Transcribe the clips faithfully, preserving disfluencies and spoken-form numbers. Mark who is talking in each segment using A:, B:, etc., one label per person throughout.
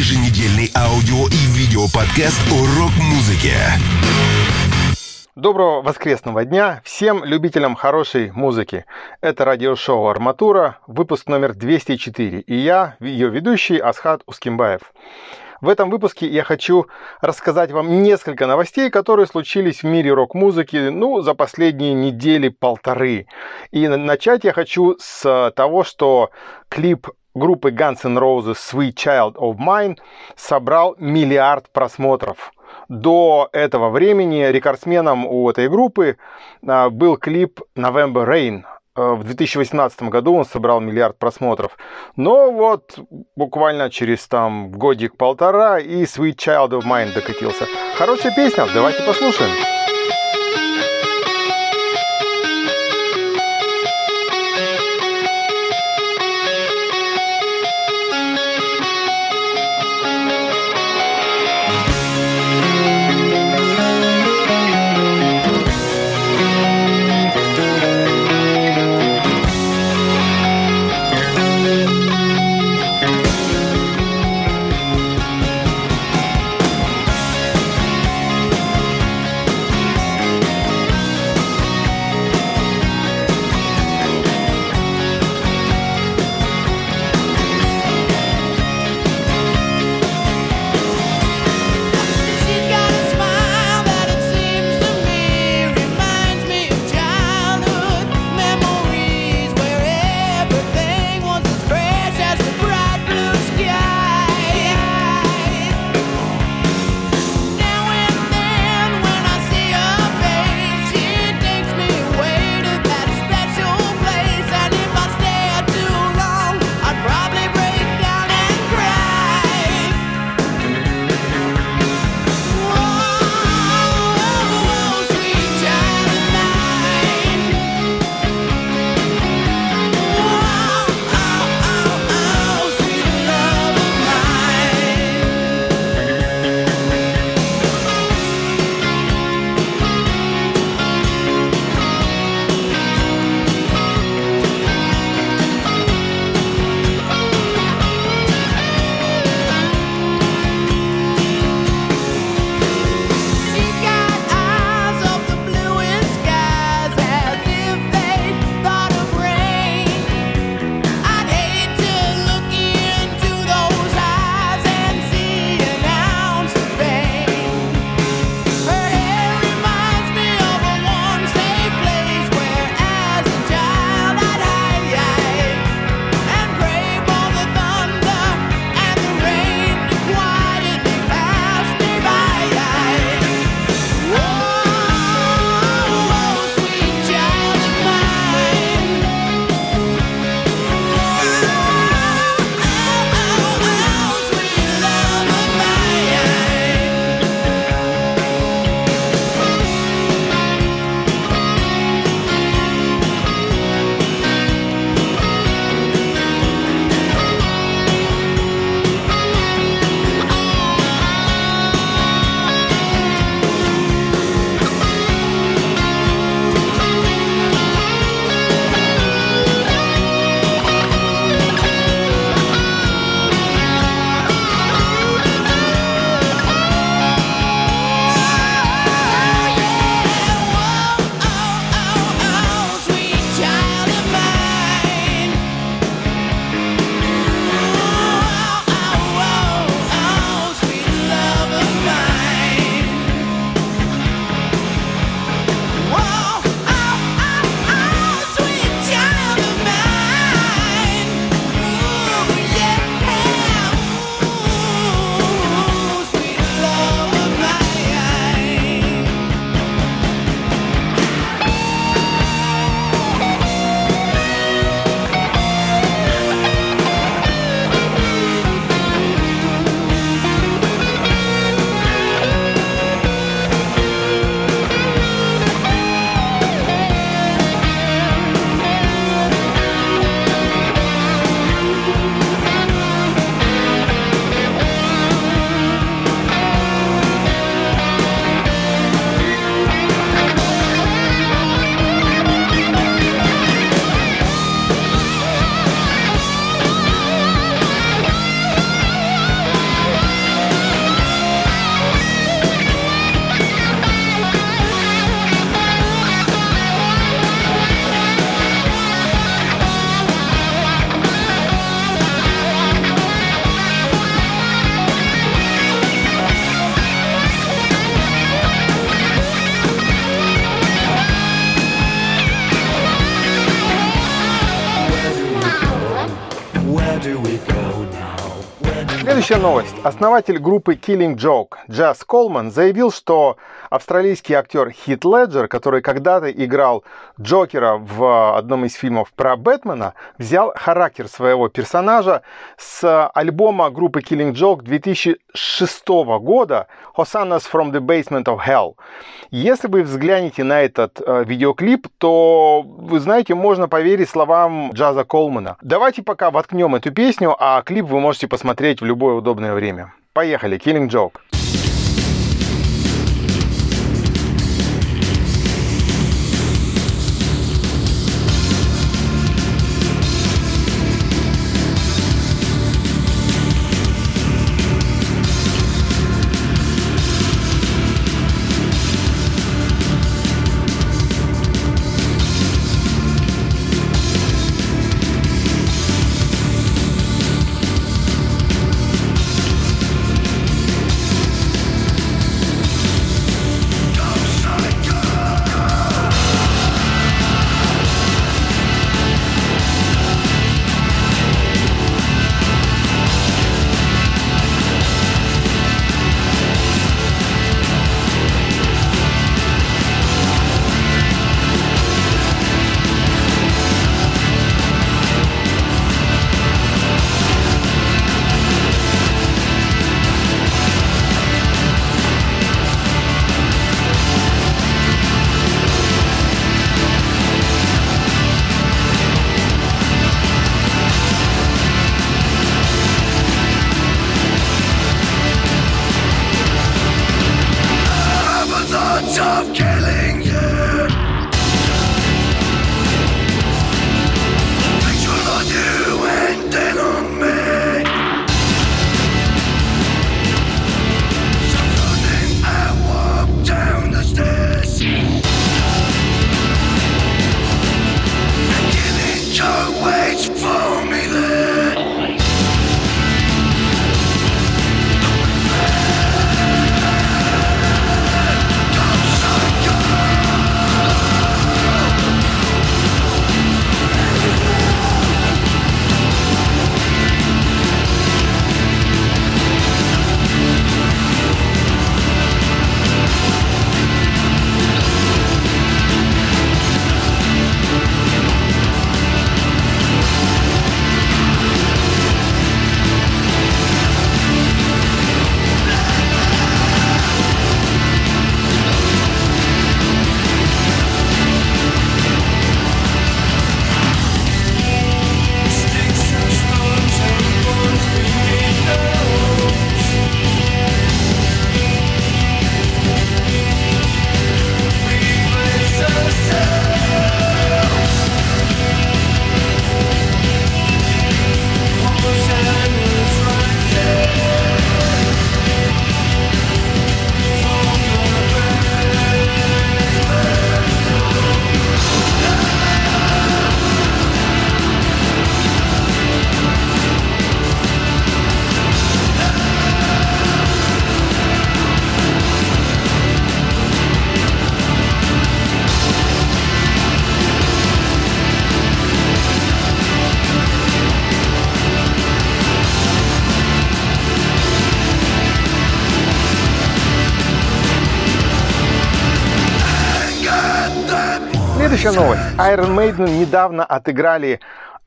A: еженедельный аудио и видео-подкаст о рок-музыке.
B: Доброго воскресного дня всем любителям хорошей музыки. Это радиошоу «Арматура», выпуск номер двести четыре, и я, ее ведущий Асхат Ускимбаев. В этом выпуске я хочу рассказать вам несколько новостей, которые случились в мире рок-музыки, ну, за последние недели-полторы. И начать я хочу с того, что клип группы Guns N' Roses «Sweet Child of Mine» собрал миллиард просмотров. До этого времени рекордсменом у этой группы был клип «November Rain». В две тысячи восемнадцатом году он собрал миллиард просмотров. Но вот буквально через там годик-полтора и «Sweet Child of Mine» докатился. Хорошая песня, давайте послушаем. Следующая новость. Основатель группы Killing Joke Jaz Coleman заявил, что австралийский актер Хит Леджер, который когда-то играл Джокера в одном из фильмов про Бэтмена, взял характер своего персонажа с альбома группы Killing Joke две тысячи шестого года Hosannas from the Basement of Hell. Если вы взглянете на этот э, видеоклип, то, вы знаете, можно поверить словам Джаза Колмана. Давайте пока воткнем эту песню, а клип вы можете посмотреть в любое удобное время. Поехали, Killing Joke. Следующая новость. Iron Maiden недавно отыграли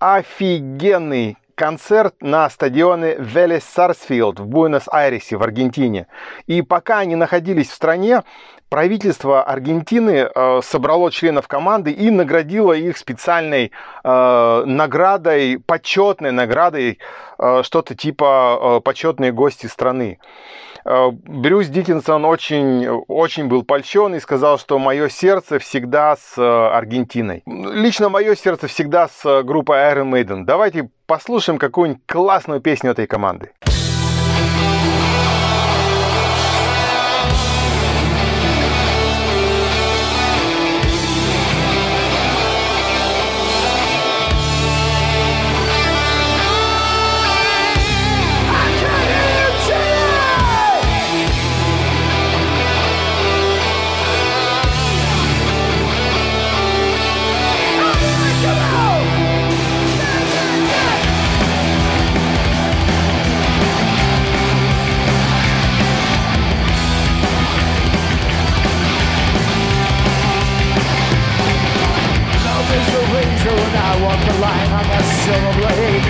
B: офигенный концерт на стадионе Велес Сарсфилд в Буэнос-Айресе в Аргентине. И пока они находились в стране, правительство Аргентины э, собрало членов команды и наградило их специальной э, наградой, почетной наградой, э, что-то типа э, почетные гости страны. Э, Брюс Диккенсон очень, очень был польщен и сказал, что мое сердце всегда с э, Аргентиной. Лично мое сердце всегда с э, группой Iron Maiden. Давайте послушаем какую-нибудь классную песню этой команды.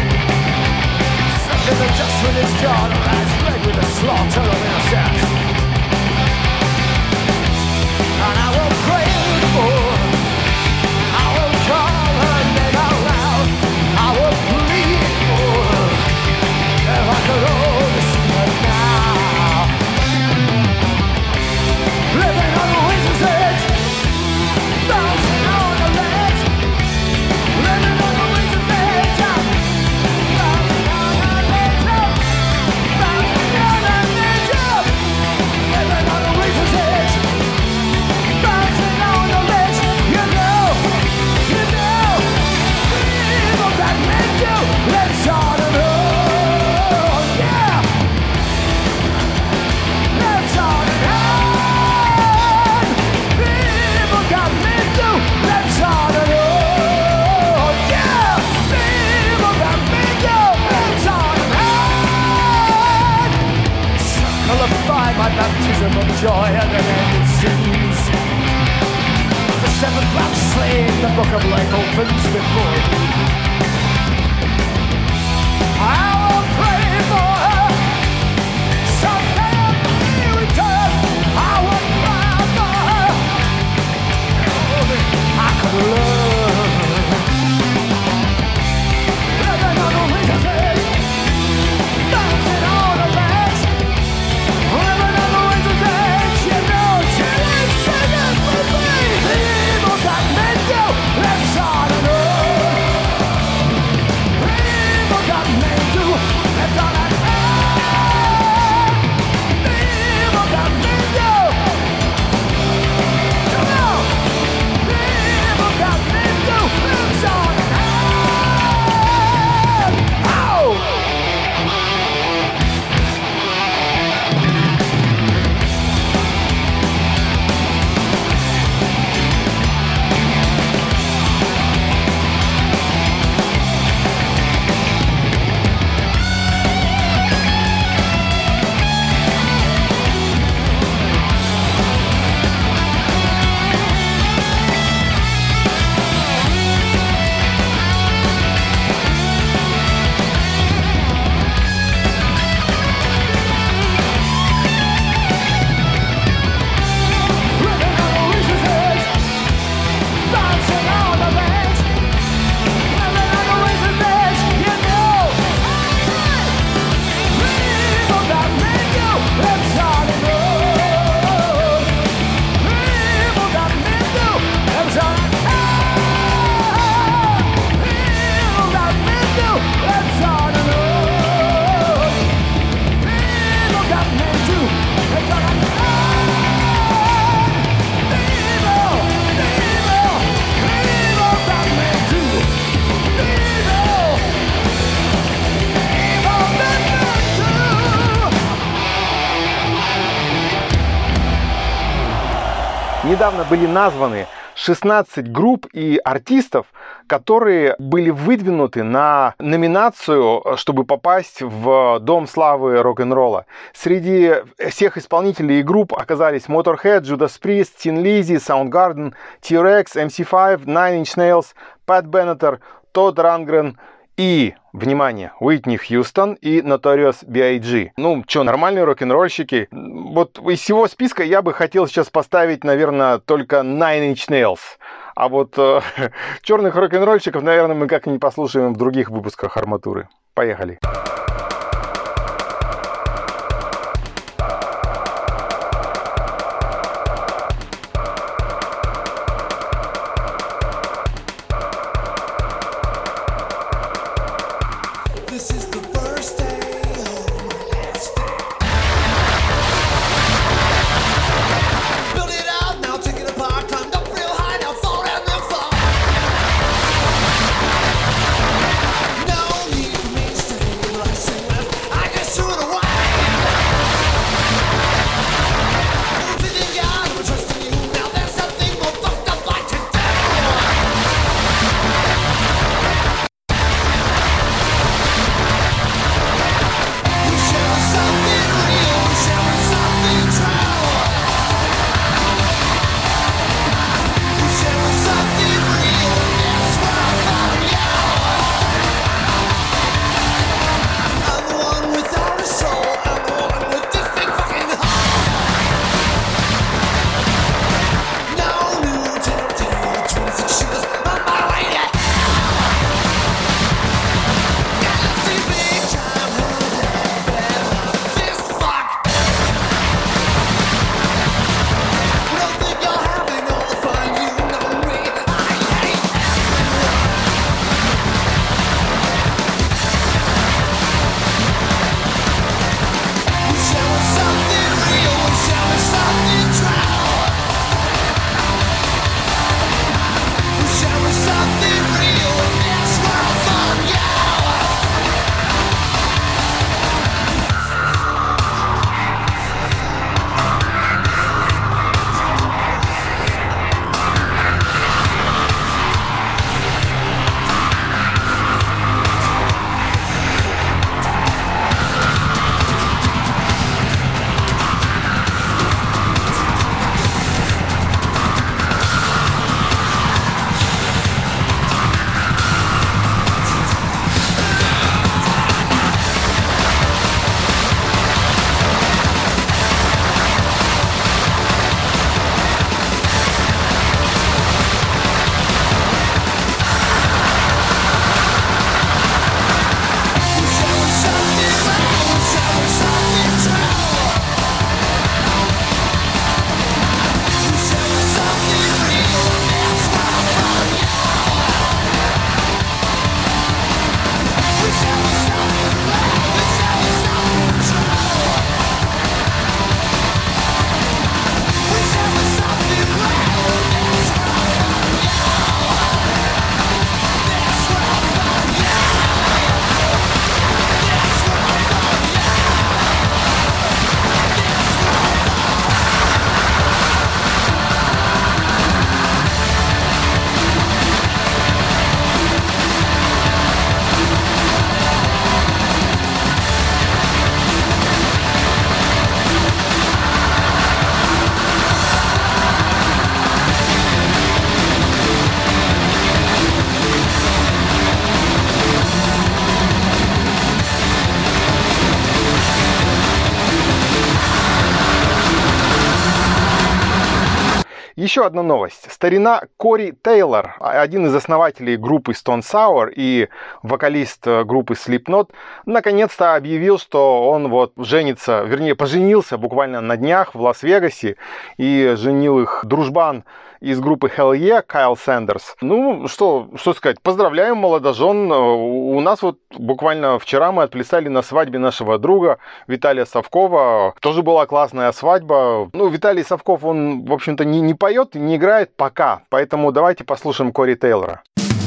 B: Недавно были названы шестнадцать групп и артистов, которые были выдвинуты на номинацию, чтобы попасть в Дом славы рок-н-ролла. Среди всех исполнителей и групп оказались Motorhead, Judas Priest, Tin Lizzy, Soundgarden, T-Rex, эм си пять, Nine Inch Nails, Pat Benatar, Todd Rundgren и, внимание, Уитни Хьюстон и Notorious би ай джи. Ну, что, нормальные рок-н-ролльщики. Вот из всего списка я бы хотел сейчас поставить, наверное, только Nine Inch Nails. А вот э, черных рок-н-ролльщиков, наверное, мы как и не послушаем в других выпусках Арматуры. Поехали. Еще одна новость. Старина Кори Тейлор, один из основателей группы Stone Sour и вокалист группы Slipknot, наконец-то объявил, что он вот женится, вернее, поженился буквально на днях в Лас-Вегасе, и женил их дружбан из группы Hell Yeah, Кайл Сэндерс. Ну, что, что сказать, поздравляем молодожен. У нас вот буквально вчера мы отплясали на свадьбе нашего друга Виталия Совкова. Тоже была классная свадьба. Ну, Виталий Совков, он, в общем-то, не, не поет, не играет пока. Поэтому давайте послушаем Кори Тейлора.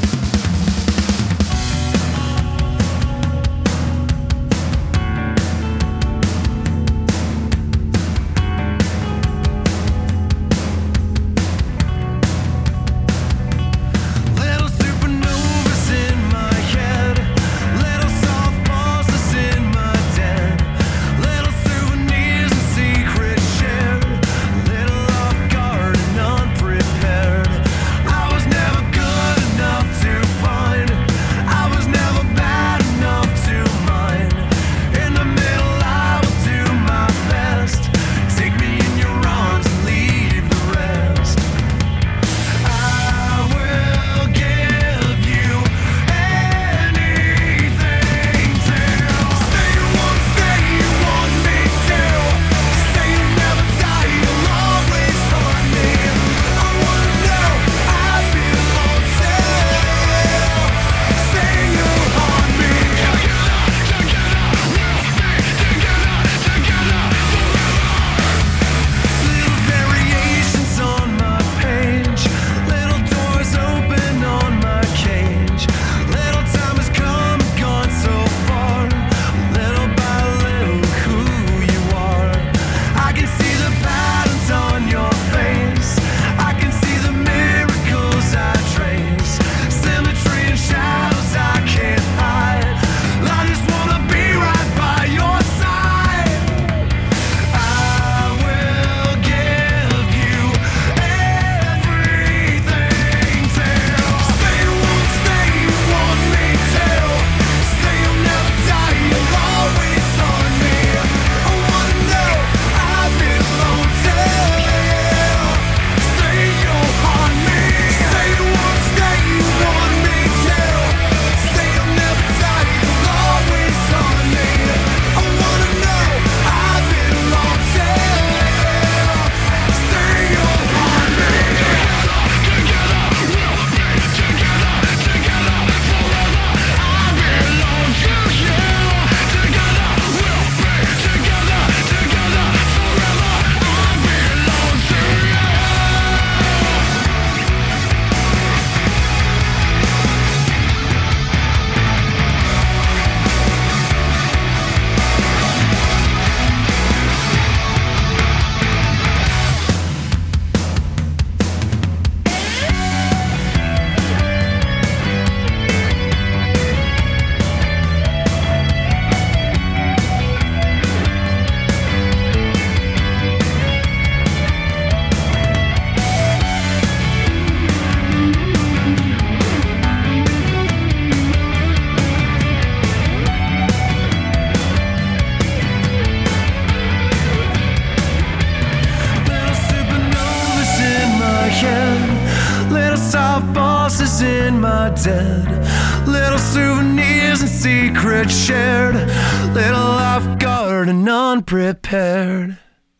C: In my den, little souvenirs and secrets shared, little off guard and unprepared.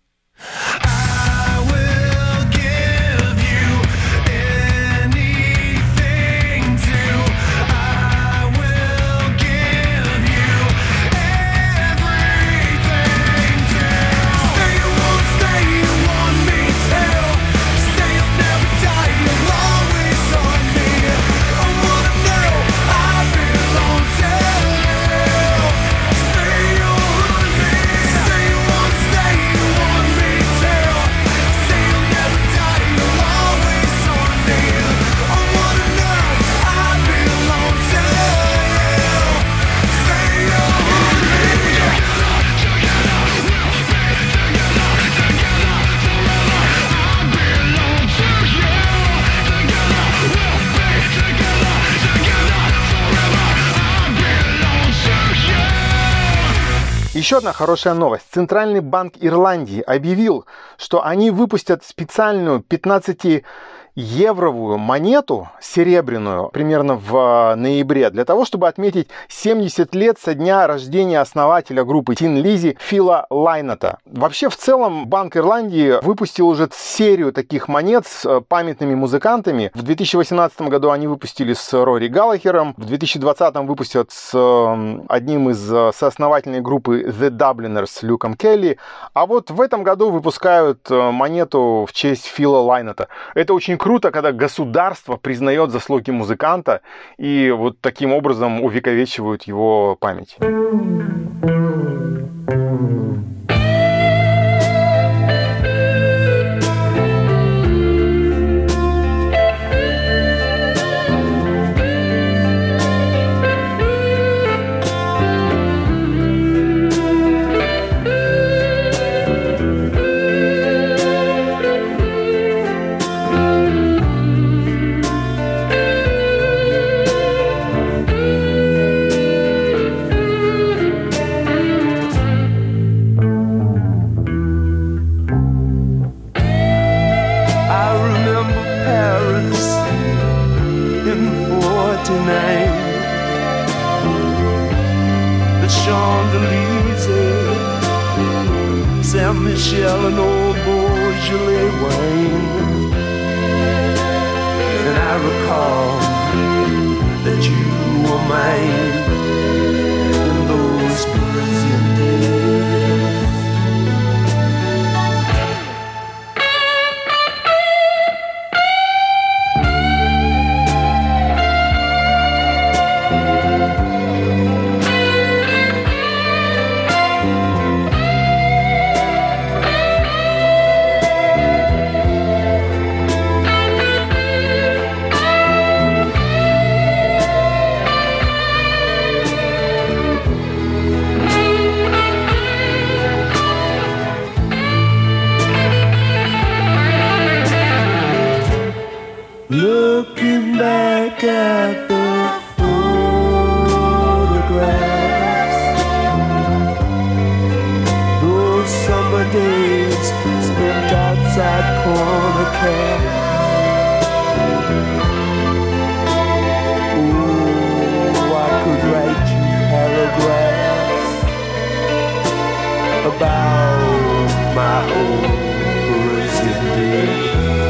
C: I will give you anything to. I will give you everything to. Say you won't stay, you want me to. Say you'll never die, you'll always on me. Say you want me, say you won't stay, you want me to.
B: Еще одна хорошая новость. Центральный банк Ирландии объявил, что они выпустят специальную пятнадцатиевровую монету серебряную примерно в ноябре для того, чтобы отметить семьдесят лет со дня рождения основателя группы Tin Lizzy Фила Лайнета. Вообще, в целом, Банк Ирландии выпустил уже серию таких монет с памятными музыкантами. В две тысячи восемнадцатом году они выпустили с Рори Галлахером, в две тысячи двадцатом выпустят с одним из сооснователей группы The Dubliners Люком Келли, а вот в этом году выпускают монету в честь Фила Лайнета. Это очень круто, когда государство признает заслуги музыканта и вот таким образом увековечивают его память.
D: Michelle and old Beaujolais wine, and I recall that you were mine in those Brazilian days. Looking back at the photographs, those summer days spent outside corner cabs. Oh, I could write you paragraphs about my old Brazilian days.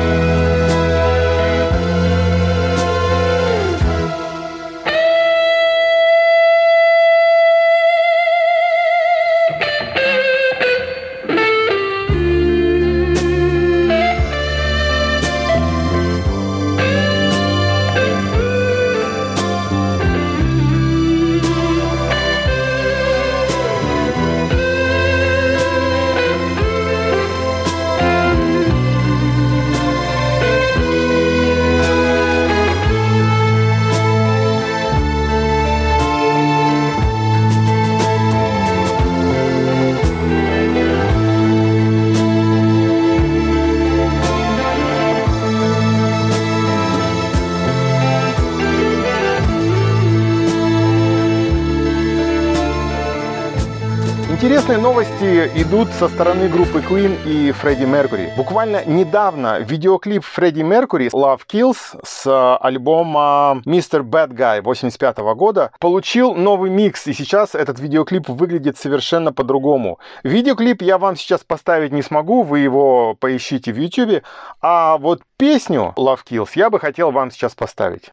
B: Интересные новости идут со стороны группы Queen и Фредди Меркьюри. Буквально недавно видеоклип Фредди Меркьюри Love Kills с альбома мистер Bad Guy восемьдесят пятого года получил новый микс, и сейчас этот видеоклип выглядит совершенно по-другому. Видеоклип я вам сейчас поставить не смогу, вы его поищите в YouTube, а вот песню Love Kills я бы хотел вам сейчас поставить.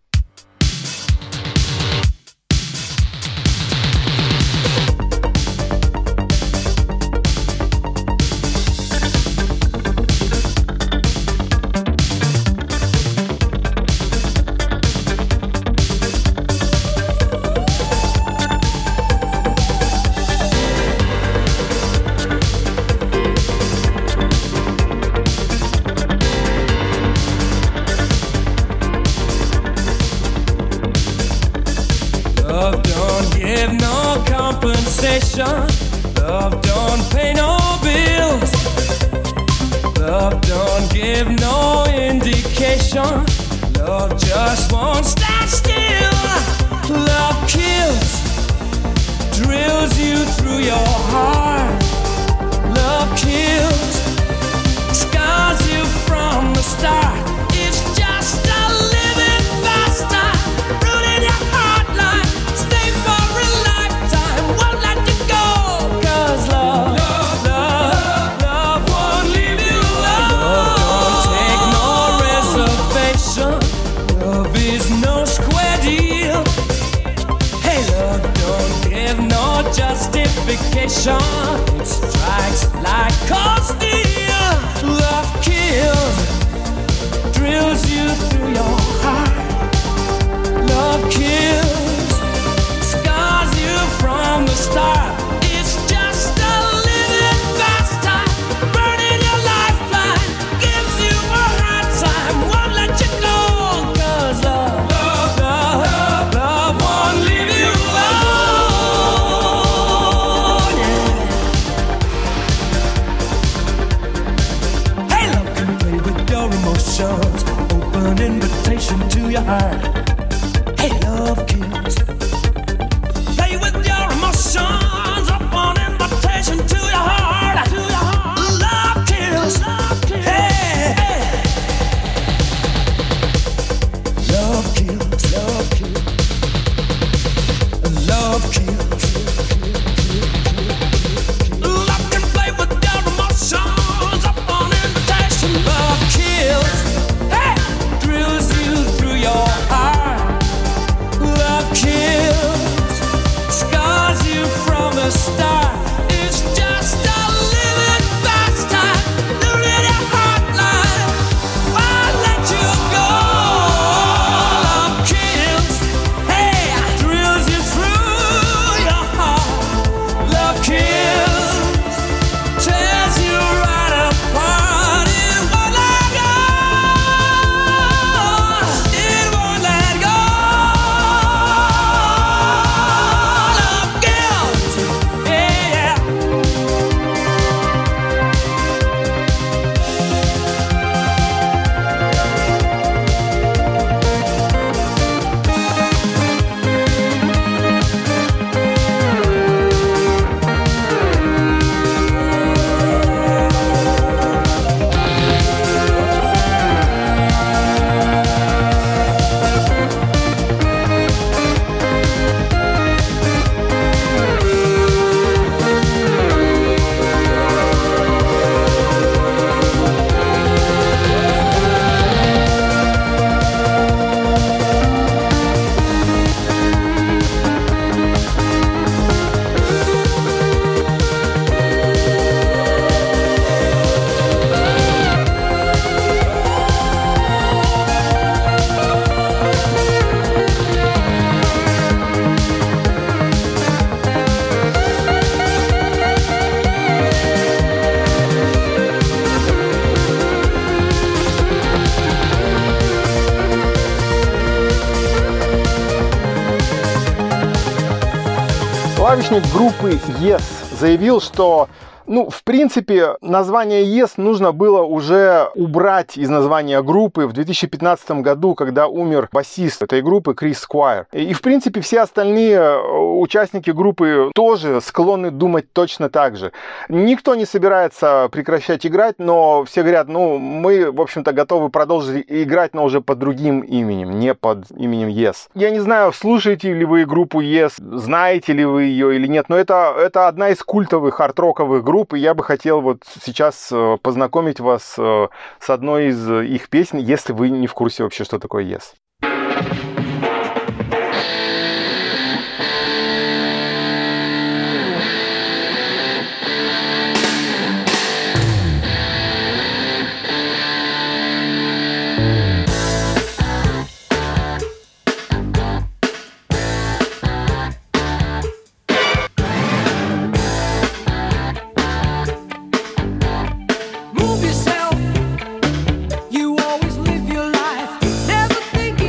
C: Love don't pay no bills. Love don't give no indication. Love just won't stand still. Love kills, drills drills you through your heart. Love kills, scars you from the start. It's just a living bastard, rooted your heart line. Stay for a lifetime, won't let you go. 'Cause love, love, love, love won't leave you alone. Love don't take no reservation. Love is no square deal. Hey, love don't give no justification. It strikes like cold steel. Love kills, drills you through your heart. Love kills, scars you from the start. It's just a living bastard, burning your lifeline, gives you a hard time, won't let you go. 'Cause love, love, love, love, love won't leave you alone. Yeah. Hey, love can play with your emotions, open invitation to your heart. Hey, love kills. Play with your emotions, open invitation to your heart. To your heart. Love kills. Love kills. Hey, hey. Love kills. Love kills. Love kills. Love can play with your emotions, open invitation. Love kills. Hey, drills you through your heart. Love kills, scars you from the start. It's just a living bastard, looting your heart line. Won't let you go. Love kills, hey, drills you through your heart. Love kills, tears you right apart. It won't let go. It won't let go. Love kills, yeah.
B: Клавишник группы Yes заявил, что, ну, в принципе, название Yes нужно было уже убрать из названия группы в две тысячи пятнадцатом году, когда умер басист этой группы Крис Сквайр. И, в принципе, все остальные участники группы тоже склонны думать точно так же. Никто не собирается прекращать играть, но все говорят, ну, мы, в общем-то, готовы продолжить играть, но уже под другим именем, не под именем Yes. Я не знаю, слушаете ли вы группу Yes, знаете ли вы ее или нет, но это, это одна из культовых арт-роковых групп, и я бы хотел вот сейчас познакомить вас с одной из их песен, если вы не в курсе вообще, что такое Yes.
C: Move yourself. You always live your life, never thinking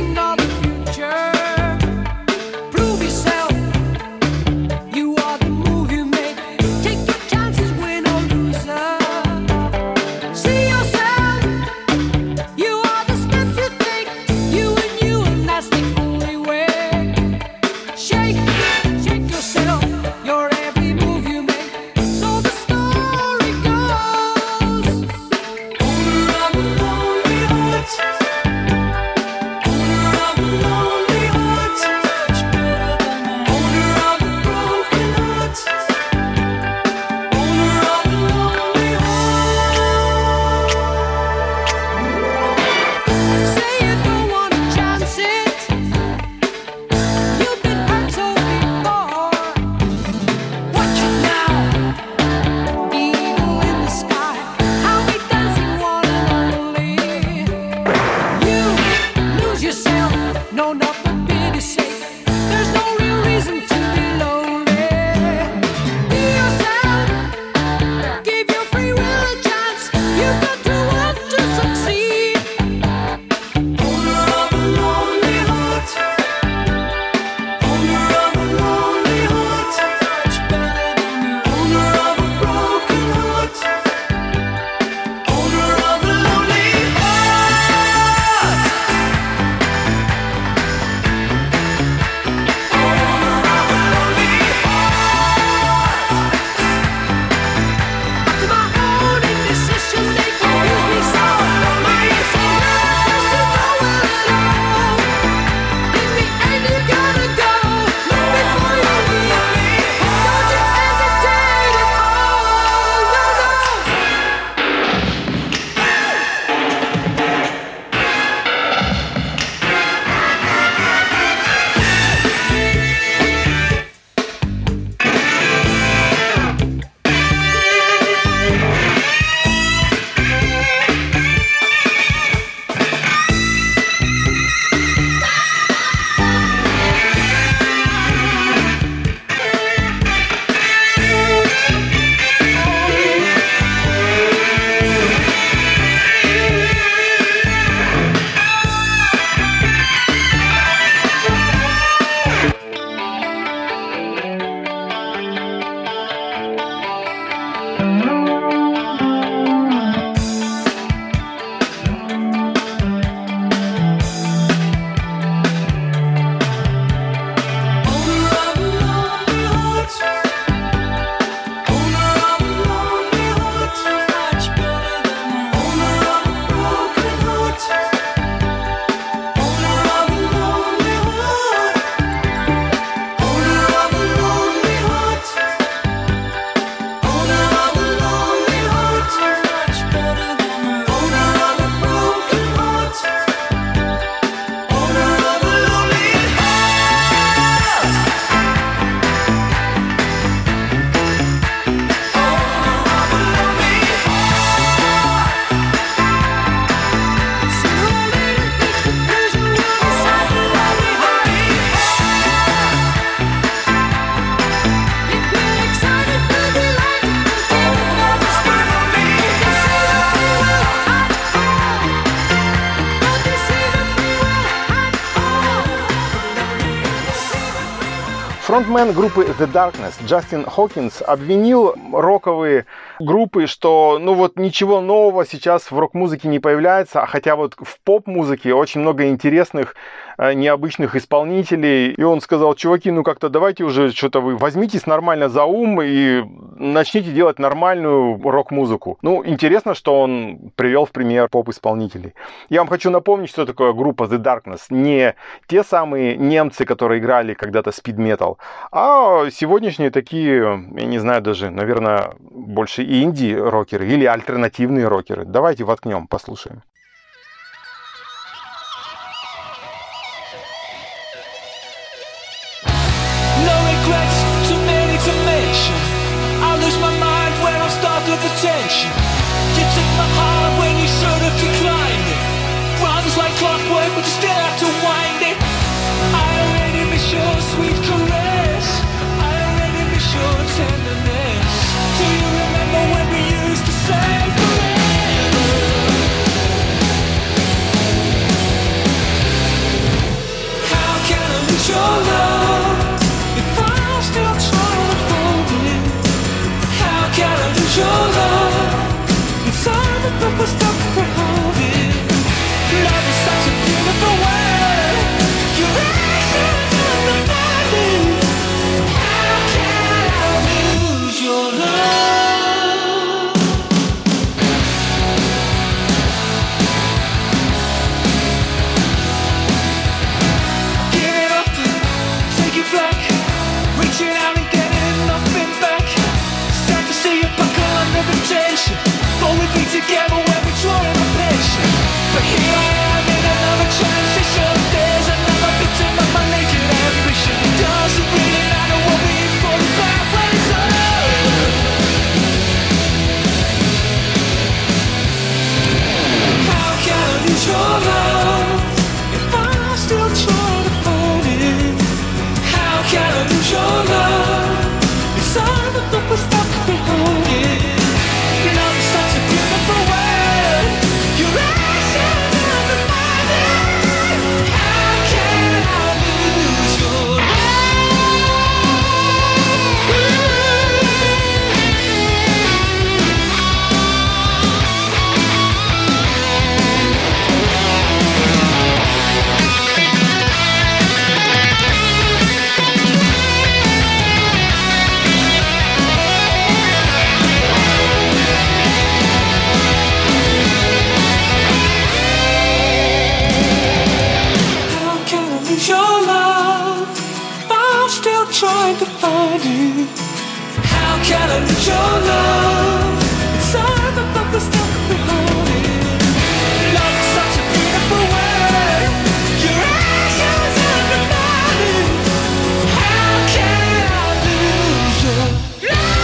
B: Фронтмен группы The Darkness Джастин Хокинс обвинил роковые группы, что ну вот ничего нового сейчас в рок-музыке не появляется, а хотя вот в поп-музыке очень много интересных, необычных исполнителей. И он сказал: чуваки, ну как-то давайте уже что-то вы возьмитесь нормально за ум и начните делать нормальную рок-музыку. Ну, интересно, что он привел в пример поп-исполнителей. Я вам хочу напомнить, что такое группа The Darkness. Не те самые немцы, которые играли когда-то спид-метал, а сегодняшние такие, я не знаю даже, наверное, больше инди-рокеры или альтернативные рокеры. Давайте воткнем, послушаем.
C: Attention. You took my heart when you should have declined it. Runs like clockwork, but you still have to wind it. I already miss your sweet caress. I already miss your tenderness. Do you remember when we used to say forever? How can I lose your love if I'm still trying to fold it? How can I lose your love? Inside the book was stuck for holding. Love is such a beautiful word. Your actions are the body. How can I lose your love? Give it up, take it back. Reaching out and getting nothing back. Sad to see you buckle under the tension. Thought we'd be together when we draw in a passion. But here I am in another transition. There's another victim of my naked ambition. It doesn't really matter what we thought about when it's over. How can I lose your love if I'm still trying to fold it? How can I lose your love? It's all the book was stuck behind it. Love is such a beautiful word. Your actions are the body. How can I lose your trying to find you. How can I lose your love? It's all the book was stuck behind it. Love is such a beautiful word. Your actions are the body. How can I lose your love?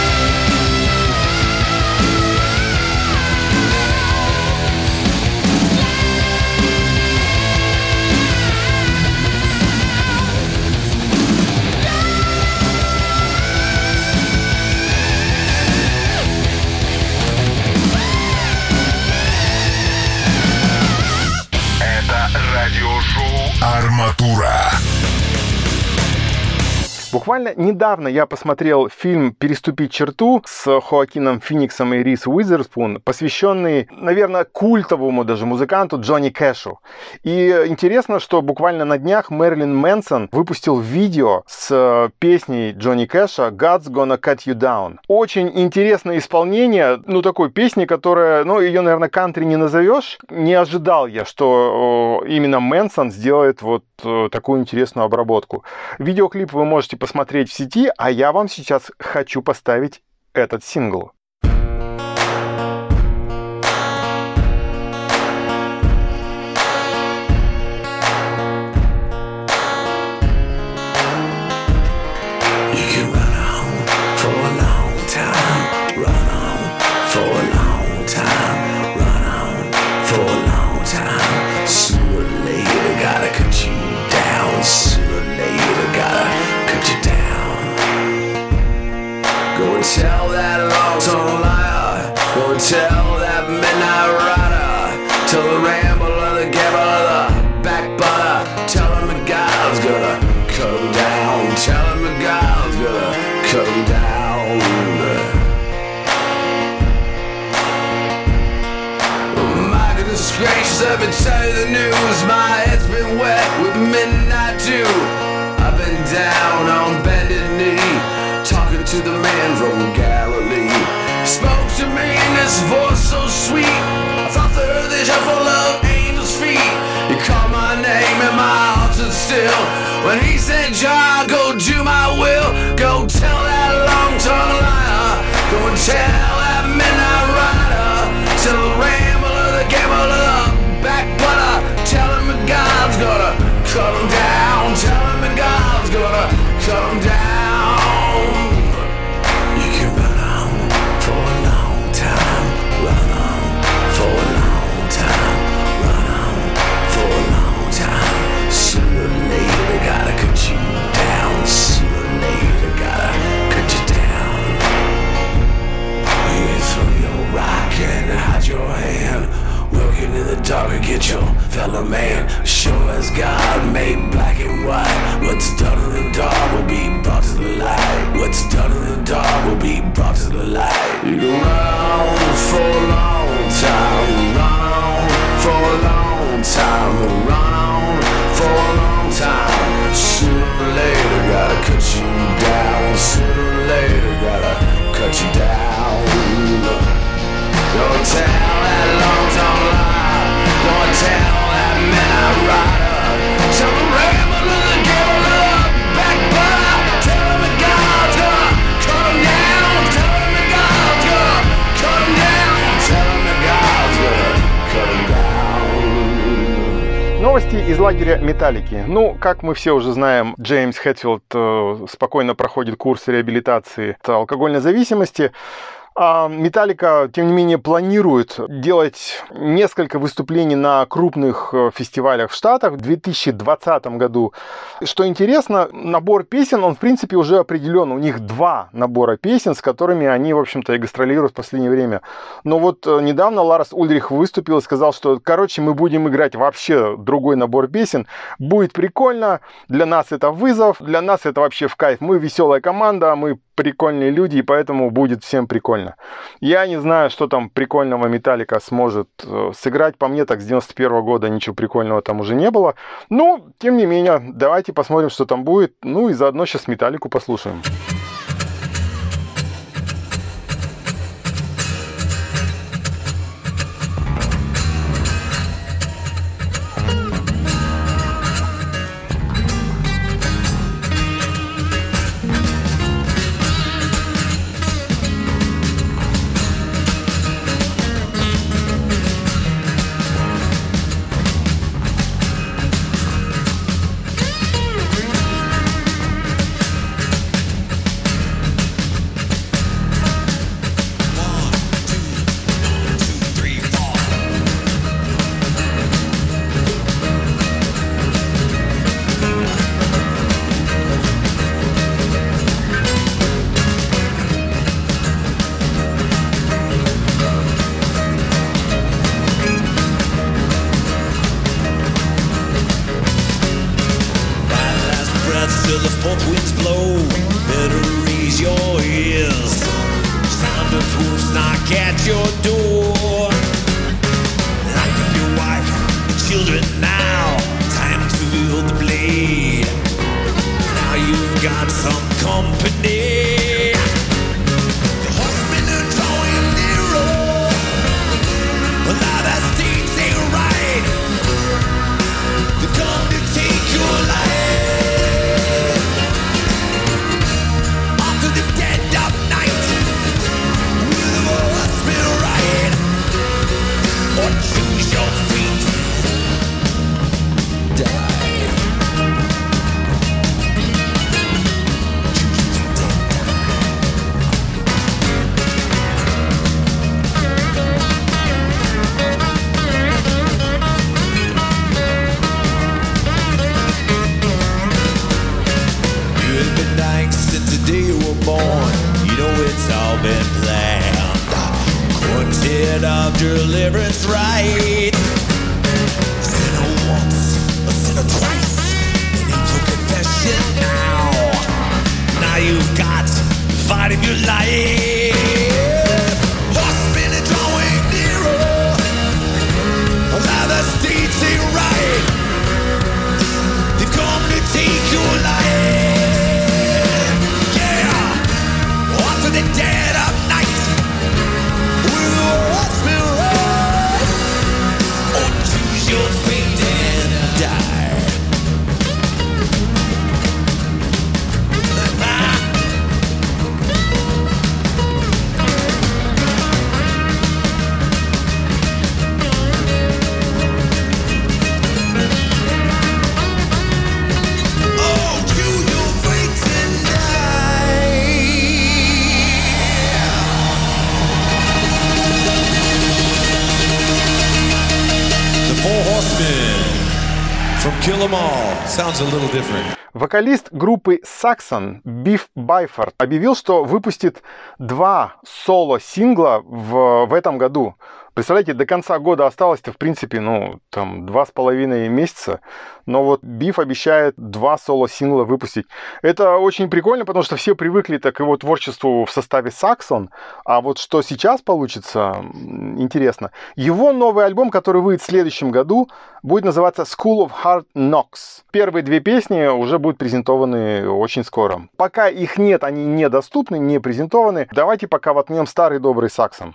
A: Арматура.
B: Буквально недавно я посмотрел фильм «Переступить черту» с Хоакином Фениксом и Риз Уизерспун, посвященный, наверное, культовому даже музыканту Джонни Кэшу. И интересно, что буквально на днях Мэрилин Мэнсон выпустил видео с песней Джонни Кэша «God's Gonna Cut You Down». Очень интересное исполнение, ну, такой песни, которая, ну, ее, наверное, кантри не назовешь. Не ожидал я, что именно Мэнсон сделает вот такую интересную обработку. Видеоклип вы можете посмотреть в сети, а я вам сейчас хочу поставить этот сингл.
E: Tell that long-tongued liar, go tell that midnight rider, tell the rambler, the gambler, the backbiter, tell him that God's gonna come down, tell him that God let me tell you the news. My head's been wet with midnight dew. I've been down on bended knee, talking to the man from Galilee. He spoke to me in this voice so sweet. I thought the earth is full of angels' feet. He called my name and my heart stood still when he said, John, go do my will. Go tell that long-tongued liar. Go and tell that midnight rider. Tell the rambler, the gambler, backbutter. Tell him that God's gonna cut him down. Tell him that God's gonna cut him down. You can run on for a long time. Run on for a long time. Run on for a long time. Sooner or later they gotta cut you down. Sooner or later they gotta cut you down. You throw your rock and hide your hand. Working in the dark and get your fellow man. Sure as God made black and white. What's done in the dark will be brought to the light. What's done in the dark will be brought to the light. You can run on for a long time. Run on for a long time. Run on for a long time. Sooner or later gotta cut you down. Sooner or later gotta cut you down. Don't tell that long-tongue lie. Don't tell that midnight rider. Tell the rambler, the gambler, backbutter. Tell him that God's gonna cut him down. Tell him that God's gonna cut him down. Tell him that God's gonna cut him down.
B: Новости из лагеря Металлики. Ну, как мы все уже знаем, Джеймс Хэтфилд э, спокойно проходит курс реабилитации от алкогольной зависимости. А Металлика, тем не менее, планирует делать несколько выступлений на крупных фестивалях в Штатах в две тысячи двадцатом году. Что интересно, набор песен, он, в принципе, уже определен. У них два набора песен, с которыми они, в общем-то, и гастролируют в последнее время. Но вот недавно Ларс Ульрих выступил и сказал, что, короче, мы будем играть вообще другой набор песен. Будет прикольно. Для нас это вызов, для нас это вообще в кайф. Мы веселая команда, мы прикольные люди, и поэтому будет всем прикольно. Я не знаю, что там прикольного Металлика сможет э, сыграть. По мне, так с девяносто первого года ничего прикольного там уже не было. Но, тем не менее, давайте посмотрим, что там будет. Ну и заодно сейчас Металлику послушаем.
F: till the fourth winds blow. Better raise your ears. Sound of hoofs knock at your door. Lock up your wife and children now. Time to wield the blade. Now you've got some company. The horsemen are drawing nearer. Well, now the steeds ain't right. They come to take your life. After the dead of night, will the horsemen ride? Or choose your fate? Die. Born, you know it's all been planned. Quartet of deliverance, right? Sinner once, a sinner twice. They need your confession now. Now you've got the fight of your life. Horsemen are drawing nearer. Allow the take your life. Yeah, off to the dead of night with the horseman ride. Or choose your fate and die. From Kill 'Em All. Sounds a little different.
B: Вокалист группы Saxon Биф Байфорд объявил, что выпустит два соло-сингла в, в этом году. Представляете, до конца года осталось-то, в принципе, ну, там, два с половиной месяца. Но вот Биф обещает два соло-сингла выпустить. Это очень прикольно, потому что все привыкли к его творчеству в составе Saxon. А вот что сейчас получится, интересно. Его новый альбом, который выйдет в следующем году, будет называться School of Hard Knocks. Первые две песни уже будут презентованы очень скоро. Пока их нет, они недоступны, не презентованы. Давайте пока воткнем старый добрый Saxon.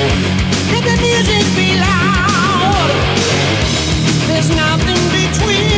C: There's nothing between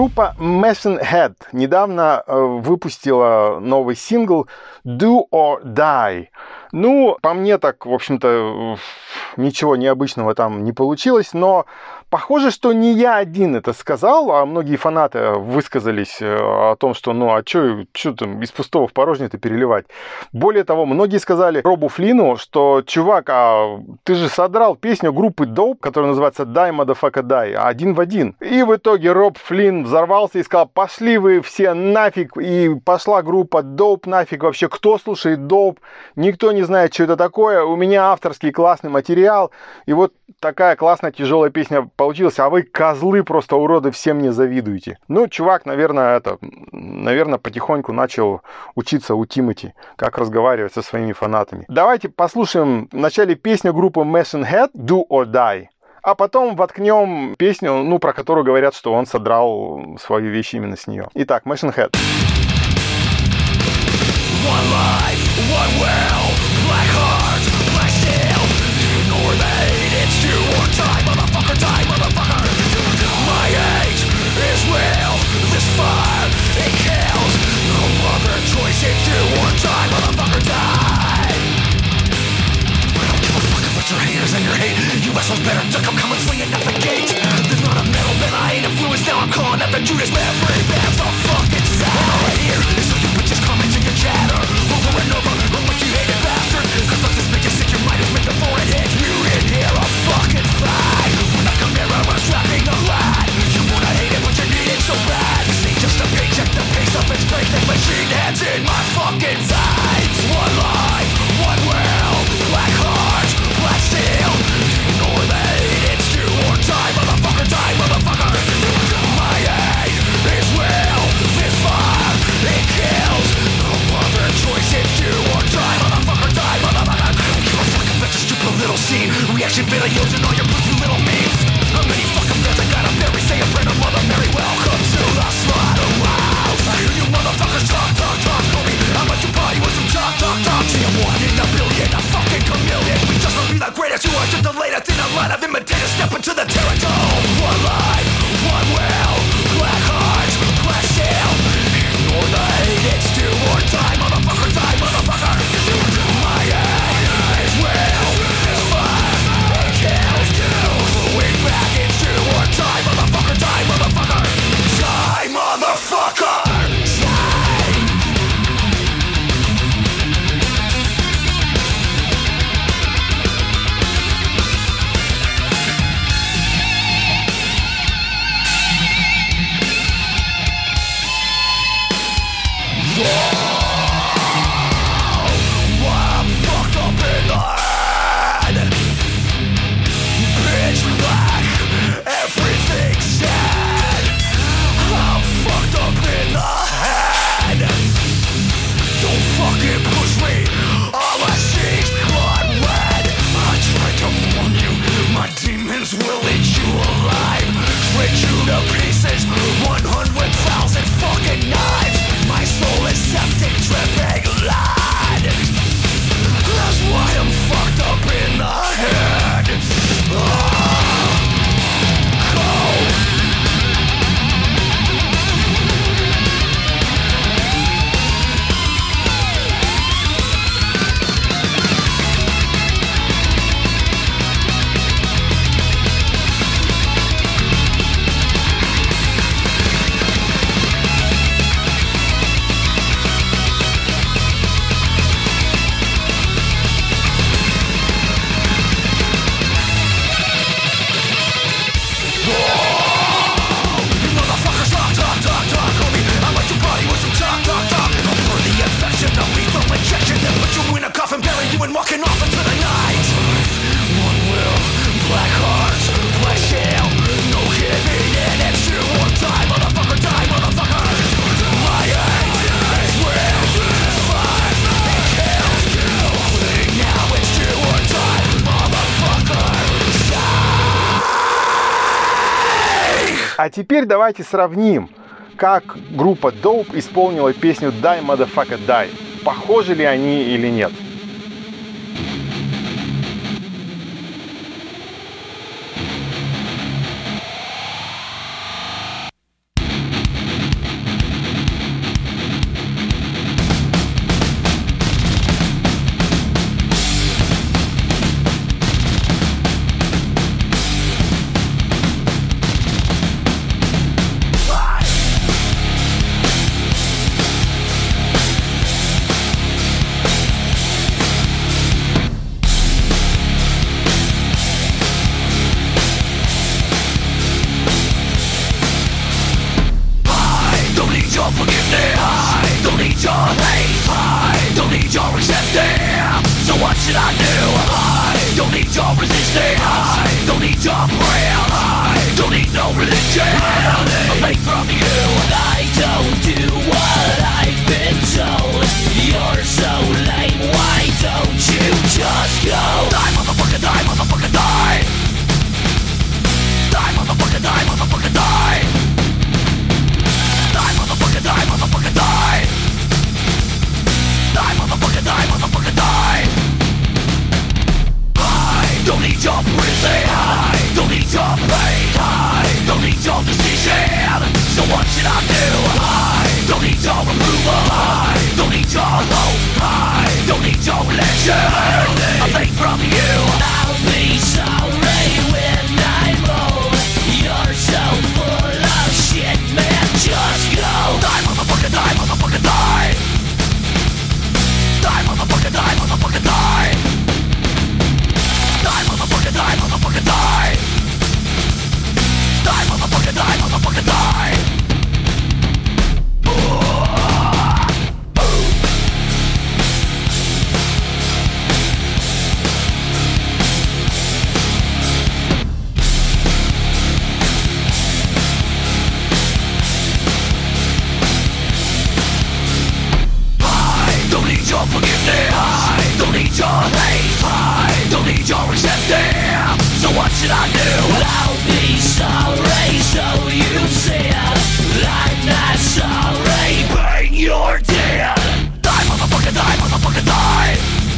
B: Группа Machine Head недавно э, выпустила новый сингл Do or Die. Ну, по мне так, в общем-то, ничего необычного там не получилось, но похоже, что не я один это сказал, а многие фанаты высказались о том, что ну, а что там из пустого в порожнее-то переливать. Более того, многие сказали Робу Флину, что, чувак, а ты же содрал песню группы Dope, которая называется Die Motherfucker Die, один в один. И в итоге Роб Флинн взорвался и сказал, пошли вы все нафиг, и пошла группа Dope нафиг, вообще кто слушает Dope, никто не знает, что это такое, у меня авторский классный материал, и вот такая классная тяжелая песня получилась, а вы, козлы, просто уроды, все мне завидуете. Ну, чувак, наверное, это, наверное, потихоньку начал учиться у Тимати, как разговаривать со своими фанатами. Давайте послушаем вначале песню группы Machine Head Do or Die, а потом воткнем песню, ну, про которую говорят, что он содрал свою вещь именно с нее. Итак, Machine Head.
E: One life, one will, black heart, black steel. Ignore the hate, it's do or die, motherfucker, die, motherfucker. My hate is real, this fire, it kills. No other choice, it's do or die, motherfucker, die. I don't give a fuck about your haters and your hate. You assholes better duck, I'm coming swinging at the gate. There's not a metal bit I ain't influenced, now I'm calling at the Judas man, free bands, the fucking side. And all I hear is all you bitches commenting your chatter over and over on what you hated bastard. Cause let's just make you sick, your mind is made before it hits. You in here a fucking fight. When I come here I'm strapping a line. You wanna hate it but you need it so bad. This ain't just a paycheck, the pace of its break. That machine heads in my fucking sides. One life, one will, black heart, black steel. Ignore the hate, it's do or die, motherfucker, die, motherfucker. My hate is real, this fire, it kills. No other choice, it's do or die, motherfucker, die, motherfucker. Don't give a fuck about your stupid little scene. Reaction videos and all your pussy little memes. How many fucking bears I gotta bury? Say a prayer to Mother Mary, welcome to the slaughterhouse. I hear you motherfuckers talk, talk, talk, call me. I'm about to party with some talk, talk, talk. See I'm one in a billion, a fucking chameleon. We just won't be the greatest, you are just the latest in a line of imitators. Step into the territory. One life, one will, black hearts, black steel. Ignore the hate, it's do or die, motherfucker, die, motherfucker. My hate is real, it's fire, it kills. Going back, it's do or die, motherfucker, die, motherfucker. Die, motherfucker, die. Will eat you alive, shred you to pieces, one hundred thousand fucking knives. My soul is septic, dripping blood. That's why I'm fucked up in the head. Oh, cold. And walking off into the night. One will, black hearts, black steel. No giving in, it's do or die, motherfucker, die, motherfucker. My hate is real, it's fire, it kills. No quitting now, it's do or die, motherfucker, die.
B: А теперь давайте сравним, как группа Dope исполнила песню Die Motherfucker Die. Похожи ли они или нет?
F: your acceptance. So what should I do? I don't need your resistance. I don't need your prayers. I don't need no religion. A faith from you. I don't do what I've been told. You're so lame. Why don't you just go? Die, motherfucker, die, motherfucker, die. Die, motherfucker, die, motherfucker, die. Die, motherfucker, die, motherfucker, die. Die, motherfucker, die, motherfucker, die. I don't need your prison. I don't need your pain. I don't need your decision. So what should I do? I don't need your approval. I don't need your hope. I don't need your religion. A faith from you. I'll be sorry when I'm old. You're so full of shit, man. Just go. Die, motherfucker, die, motherfucker, die. Die, motherfucker, die, motherfucker, die. Die, motherfucker, die, motherfucker, die. Die, motherfucker, die, motherfucker, die. Your forgiveness. I don't need your hate. I don't need your acceptance. So what should I do? I'll be sorry, so you said. I'm not sorry, but you're dead. Die, motherfucker, die, motherfucker, die.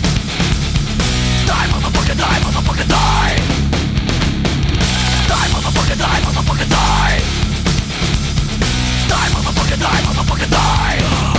F: Die, motherfucker, die, motherfucker, die. Die, motherfucker, die, motherfucker, die. Die, motherfucker, die, motherfucker, die.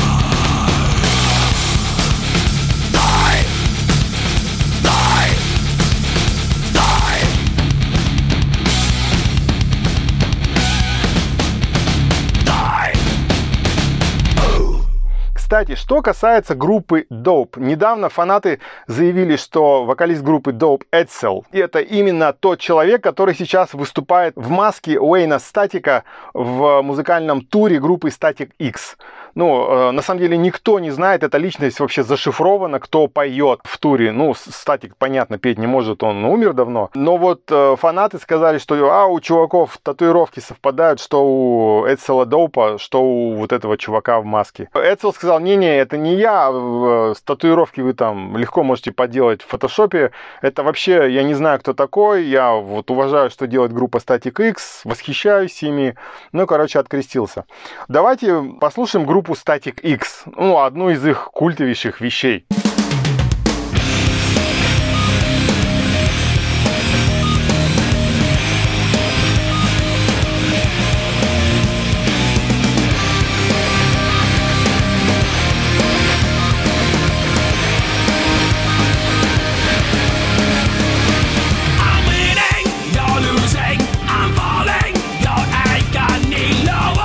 B: Кстати, что касается группы Dope. Недавно фанаты заявили, что вокалист группы Dope Edsel — это именно тот человек, который сейчас выступает в маске Уэйна Статика в музыкальном туре группы Static X. Ну, на самом деле никто не знает, эта личность вообще зашифрована, кто поет в туре. Ну, Статик, понятно, петь не может, он умер давно. Но вот фанаты сказали, что а, у чуваков татуировки совпадают, что у Эдсела Доупа, что у вот этого чувака в маске. Эдсел сказал: не-не, это не я, с татуировки вы там легко можете поделать в фотошопе. Это вообще, я не знаю, кто такой, я вот уважаю, что делает группа Static X, восхищаюсь ими. Ну, короче, открестился. Давайте послушаем группу Static X, ну, одну из их культовейших вещей.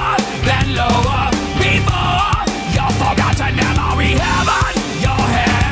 F: Forgotten memory, heaven, your head.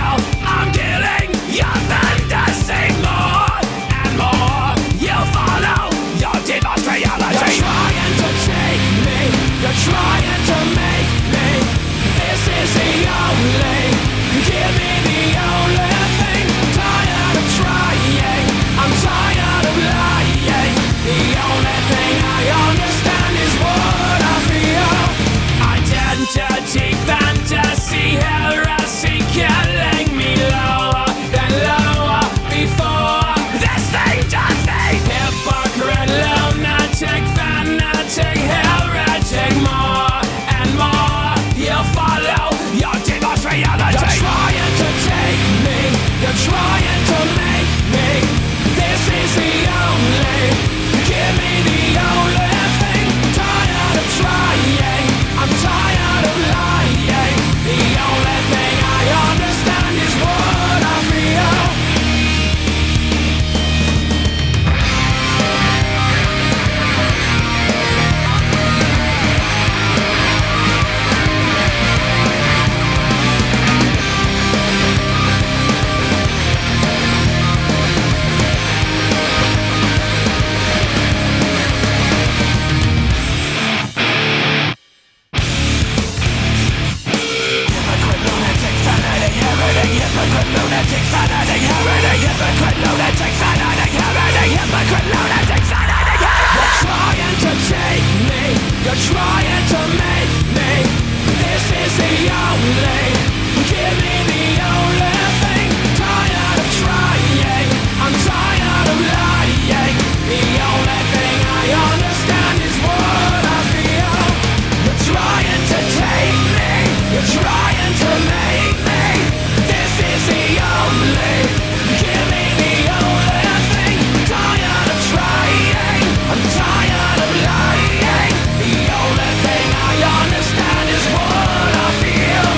C: lunatic, fanatic, heretic, hypocrite, lunatic, fanatic, heretic, hypocrite, lunatic, fanatic, heretic. You're trying to take me, you're trying to make me. This is the only, give me the only thing. Tired of trying, I'm tired of lying. The only thing I understand is what I feel. You're trying to take me, you're trying to make me. This is the only, give me the only thing. Tired of trying, I'm tired of lying. The only thing I understand is what I feel.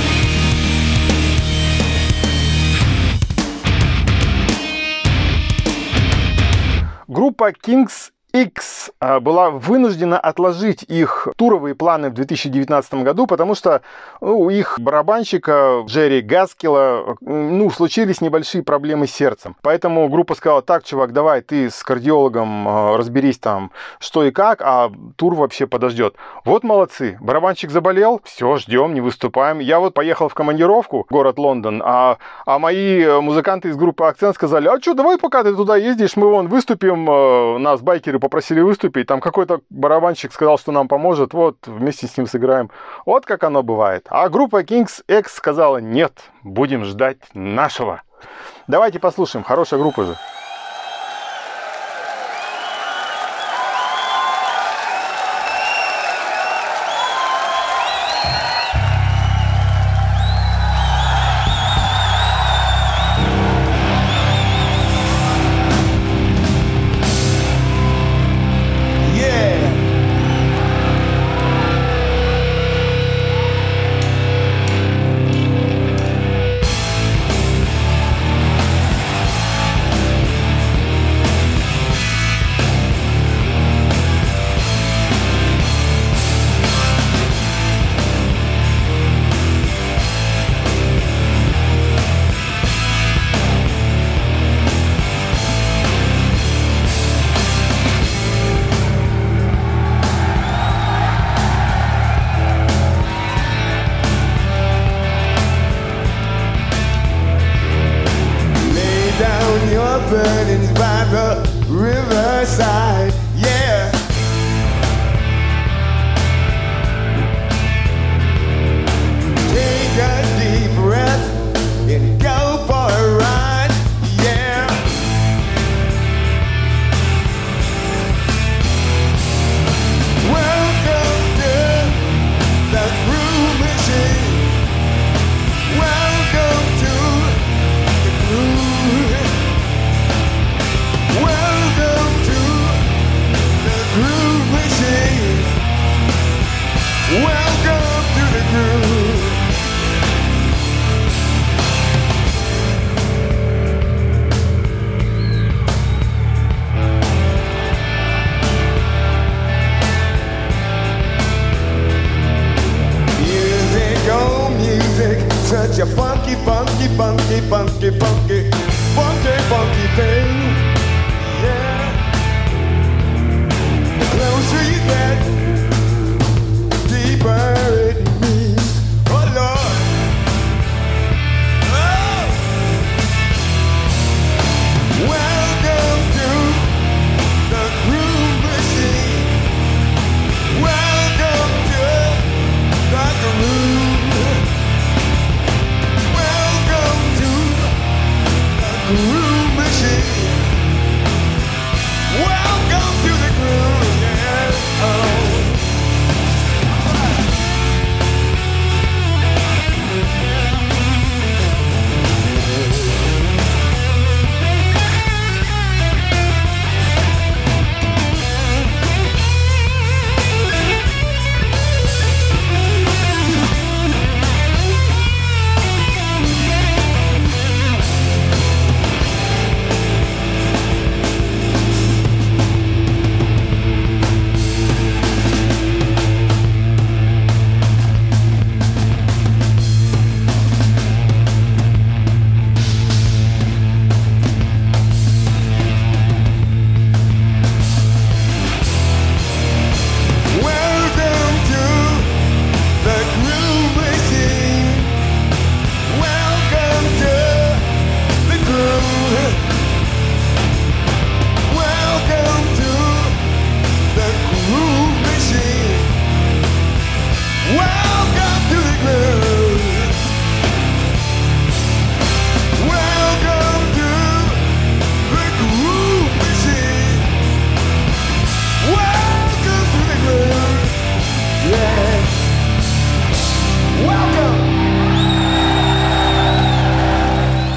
B: Группа King's X была вынуждена отложить их туровые планы в две тысячи девятнадцатом году, потому что у их барабанщика Джерри Гаскила ну, случились небольшие проблемы с сердцем. Поэтому группа сказала: так, чувак, давай ты с кардиологом разберись там, что и как, а тур вообще подождет. Вот молодцы, барабанщик заболел, все, ждем, не выступаем. Я вот поехал в командировку в город Лондон, а, а мои музыканты из группы Акцент сказали: а что, давай пока ты туда ездишь, мы вон выступим, нас байкеры попросили выступить, там какой-то барабанщик сказал, что нам поможет, вот, вместе с ним сыграем. Вот как оно бывает. А группа King's X сказала: нет, будем ждать нашего. Давайте послушаем, хорошая группа же.
G: Burdens by the riverside, yeah. Take a deep breath and go for a ride, yeah. Welcome to the groove machine. Welcome to the groove. Welcome to the groove machine. Welcome to the groove. Music, oh music, such a funky, funky, funky, funky, funky, funky, funky thing. Yeah. The closer you get, the deeper it means. Oh Lord. Oh. Welcome to the groove machine. Welcome to the groove. Welcome to the groove machine. Welcome to the groove, yeah. Oh.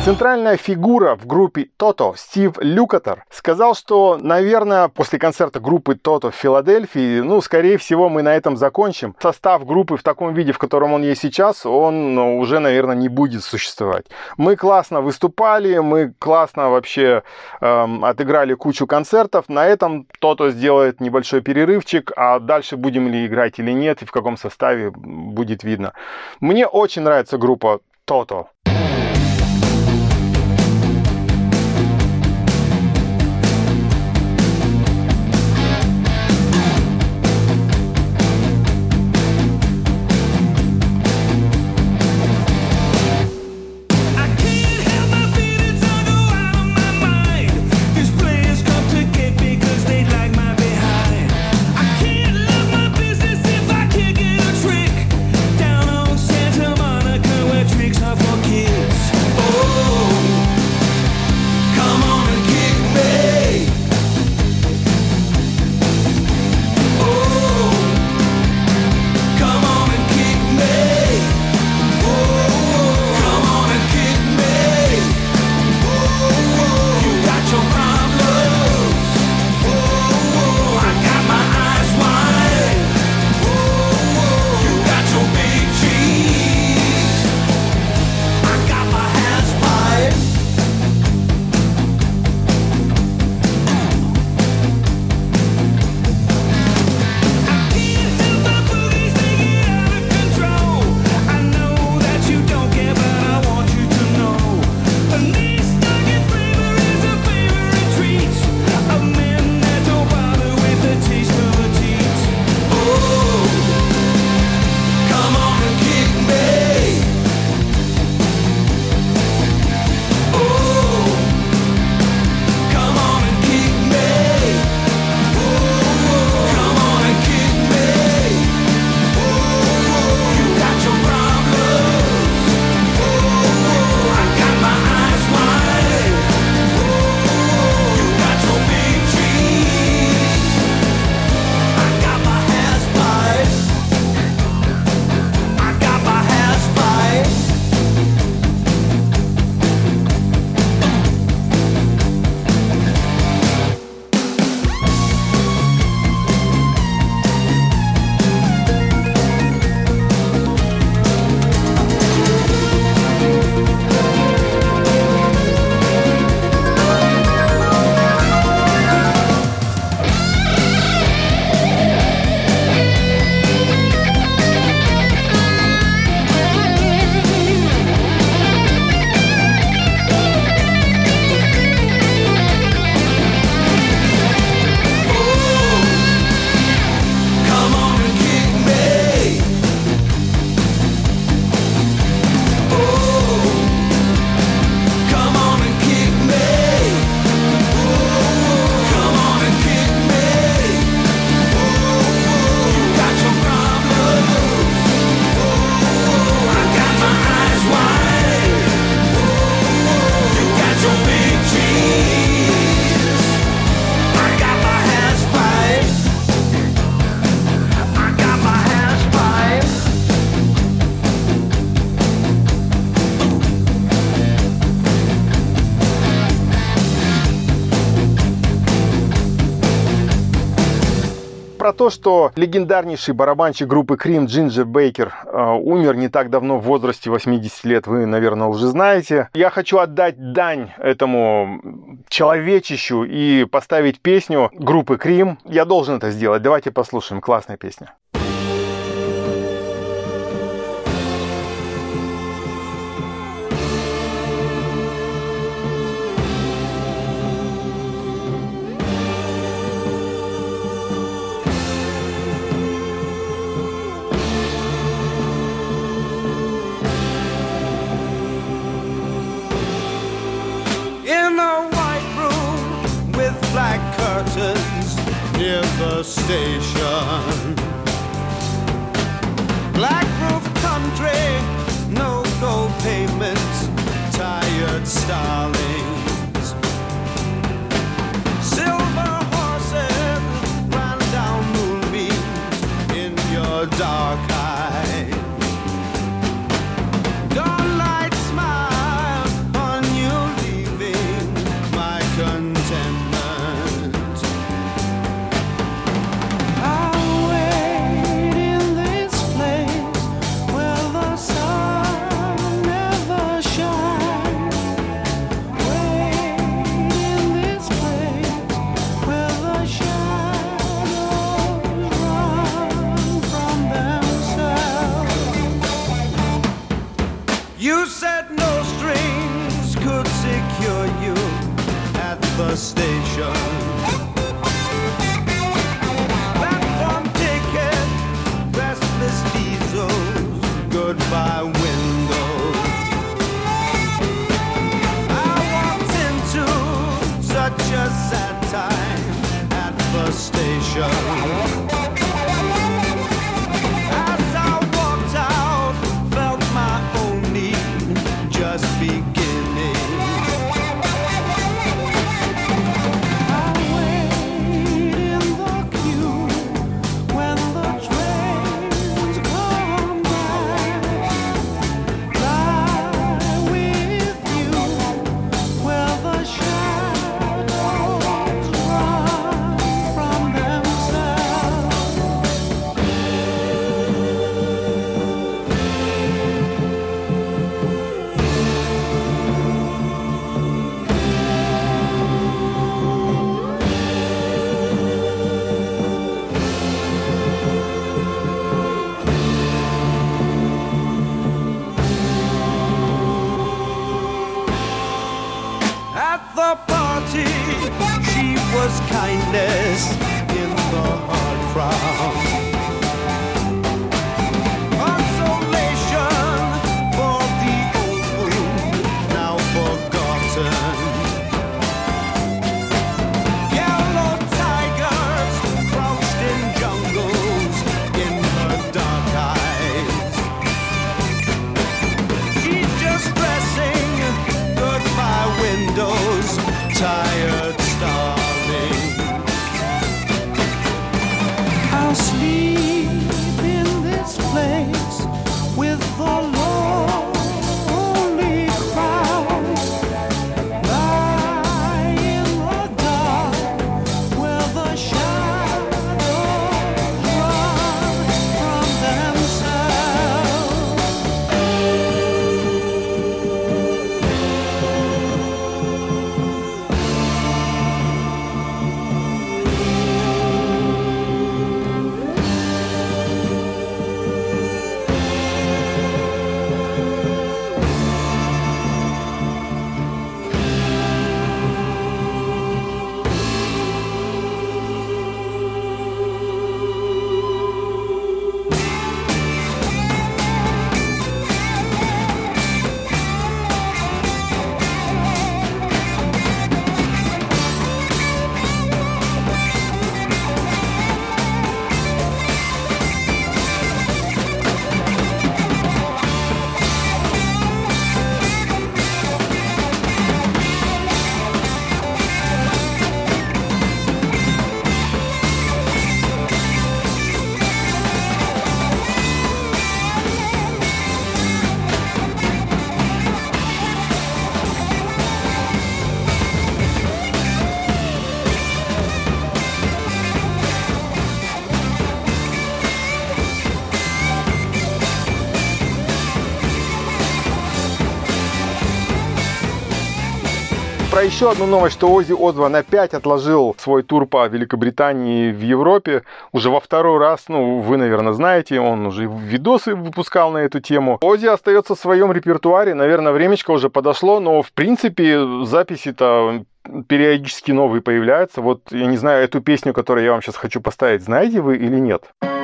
B: Центральная фигура в группе Toto, Стив Лукатер, сказал, что, наверное, после концерта группы Toto в Филадельфии, ну, скорее всего, мы на этом закончим. Состав группы в таком виде, в котором он есть сейчас, он ну, уже, наверное, не будет существовать. Мы классно выступали, мы классно вообще эм, отыграли кучу концертов. На этом Toto сделает небольшой перерывчик, а дальше будем ли играть или нет, и в каком составе будет видно. Мне очень нравится группа Toto. Про то, что легендарнейший барабанщик группы Cream Джинджер Бейкер э, умер не так давно в возрасте восьмидесяти лет, вы, наверное, уже знаете. Я хочу отдать дань этому человечищу и поставить песню группы Cream. Я должен это сделать. Давайте послушаем. Классная песня.
H: Black curtains near the station. Black roof country, no gold payments, tired starlings. Silver horses ran down moonbeams in your dark eyes. Dawnlight smiled on you said no strings could secure you at the station. Platform ticket, restless diesels, goodbye windows. I walked into such a sad time at the station. As I walked out, felt my own need just beginning. I wait in the queue when the trains come back. Lie with you where the shadows run from themselves. At the party, she was kindness in the hard crowd. Consolation for the old wound now forgotten. Yellow tigers crouched in jungles in her dark eyes. She's just dressing goodbye windows, tired, starving. I'll sleep in this place with the lonely crowd. Lie in the dark where the shadows run from themselves.
B: Про еще одну новость, что Оззи Осборн опять отложил свой тур по Великобритании в Европе уже во второй раз. Ну, вы, наверное, знаете, он уже видосы выпускал на эту тему. Оззи остается в своем репертуаре, наверное, времечко уже подошло, но, в принципе, записи-то периодически новые появляются. Вот, я не знаю, эту песню, которую я вам сейчас хочу поставить, знаете вы или нет?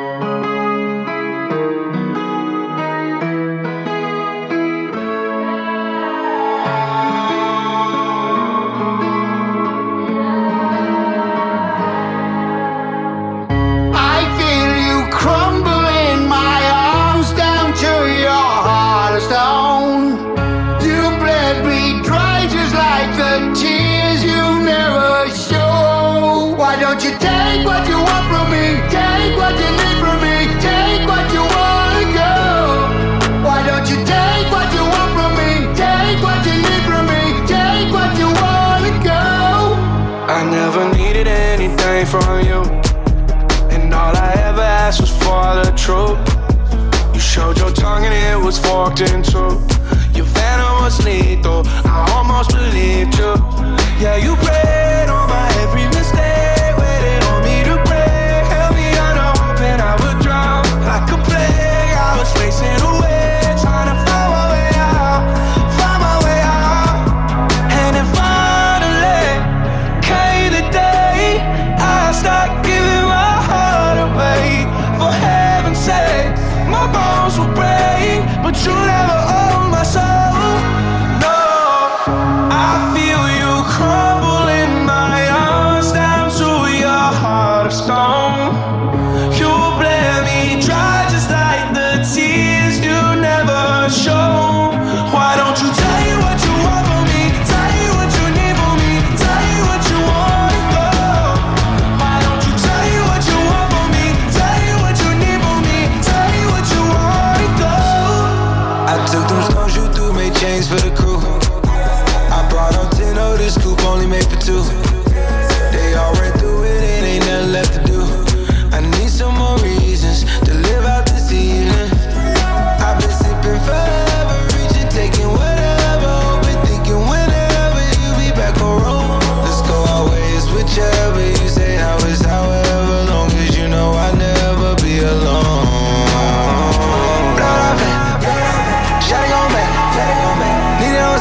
I: Take what you want from me, take what you need from me, take what you wanna go. Why don't you take what you want from me, take what you need from me, take what you wanna go.
H: I never needed anything from you, and all I ever asked was for the truth. You showed your tongue and it was forked in two. Your venom was lethal, I almost believed you. Yeah, you preyed on my every mistake, waited on me to break, held me under hoping I would drown. Like a plague, I was racing away, trying to find my way out.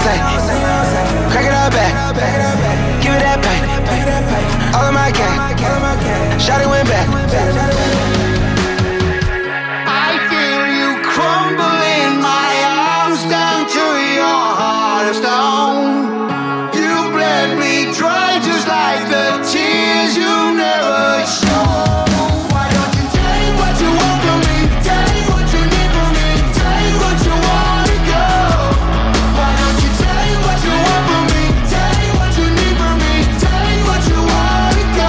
H: say, crack it up back, give it that pain. All of my gang, shawty went back.
I: I feel you crumble in my arms down to your heart of stone. You bled me dry just like the tears you never show. Why don't you take what you want from me? Take what you need from me. Take what you want to go. Why don't you take what you want from me? Take what you need from me. Take what you want to go.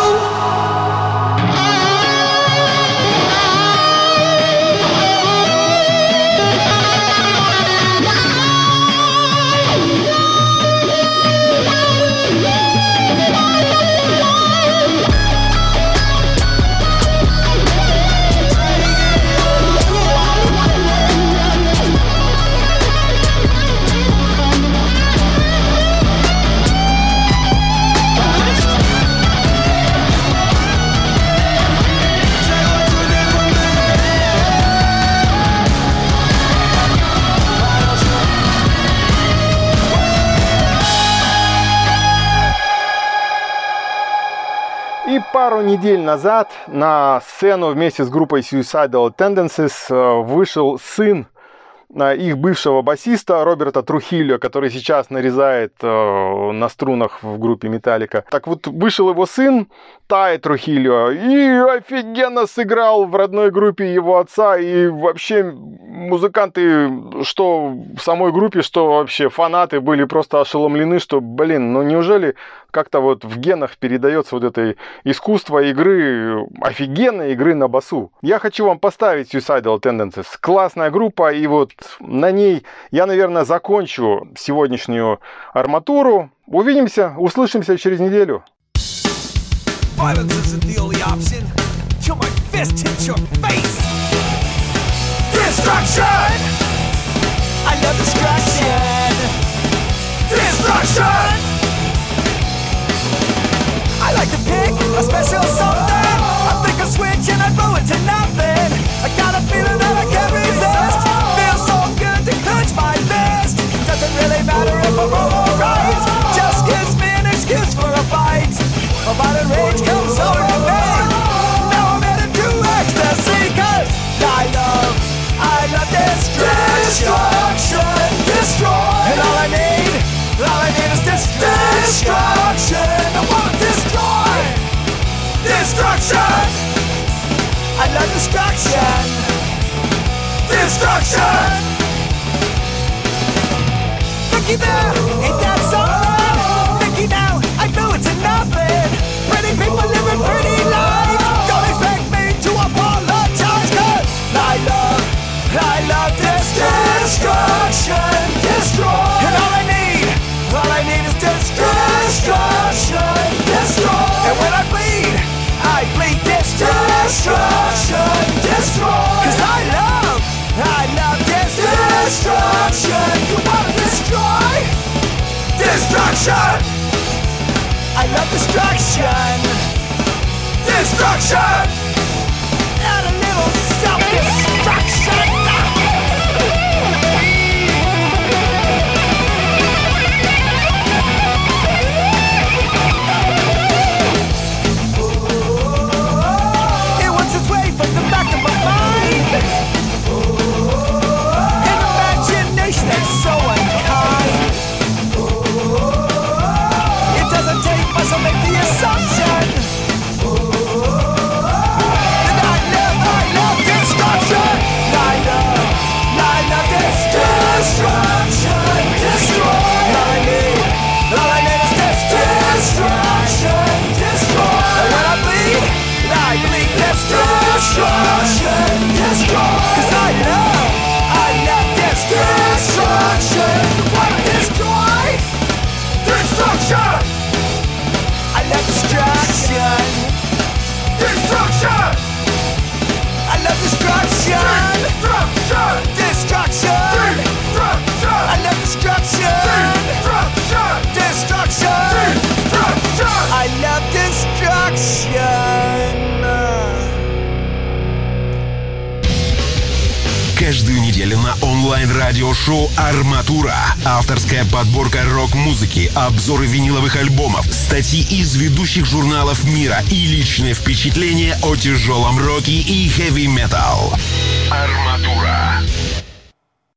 B: И пару недель назад на сцену вместе с группой Suicidal Tendencies вышел сын их бывшего басиста Роберта Трухильо, который сейчас нарезает э, на струнах в группе Metallica. Так вот, вышел его сын Тай Трухильо и офигенно сыграл в родной группе его отца. И вообще музыканты, что в самой группе, что вообще фанаты были просто ошеломлены, что, блин, ну неужели как-то вот в генах передается вот это искусство игры, офигенной игры на басу. Я хочу вам поставить Suicidal Tendencies. Классная группа, и вот на ней я, наверное, закончу сегодняшнюю арматуру. Увидимся, услышимся через неделю.
F: Violence isn't the only option. Till my fist hits your face. Destruction! I love destruction. Destruction! I like to pick a special something. I think a switch and I blow it to nothing. I got a feeling that I can't resist. Feels so good to clench my fist. Doesn't really matter if I'm wrong or right. Just gives me an excuse for a fight. My violent rage comes over me. Now I'm headed to ecstasy. Cause I love, I love destruction. Destruction, destroy. And all I need, all I need is destruction. I want to destroy. Destruction. I love destruction. Destruction. Looky there, ain't that something? Looky now, I know it's nothing. Pretty people living pretty lives. Don't expect me to apologize. Cause I love, I love this destruction. Destroy. And all I need, all I need is destruction. Destroy. And when I bleed, I bleed destruction. Destroy. Cause I love, I love this destruction. You wanna destroy? Destruction. I love destruction. Destruction. And a little self-destruction. It wants its way from the back of my mind. An imagination that's so unkind. It doesn't take much to make the assumption that I love, I love destruction. I love, I love this destruction. Destroy. All I need, all I need is this destruction. Destroy. And when I bleed, I bleed this destruction. Destroy. Cause I love, I love this destruction. You wanna destroy? Destruction. I love destruction. Destruction. I love destruction. Destruction. Destruction. Destruction. I love destruction. Destruction. Destruction. Destruction. I love destruction.
A: Каждую неделю недели на онлайн-радиошоу «Арматура». Авторская подборка рок-музыки, обзоры виниловых альбомов, статьи из ведущих журналов мира и личные впечатления о тяжелом роке и хэви-метал. «Арматура».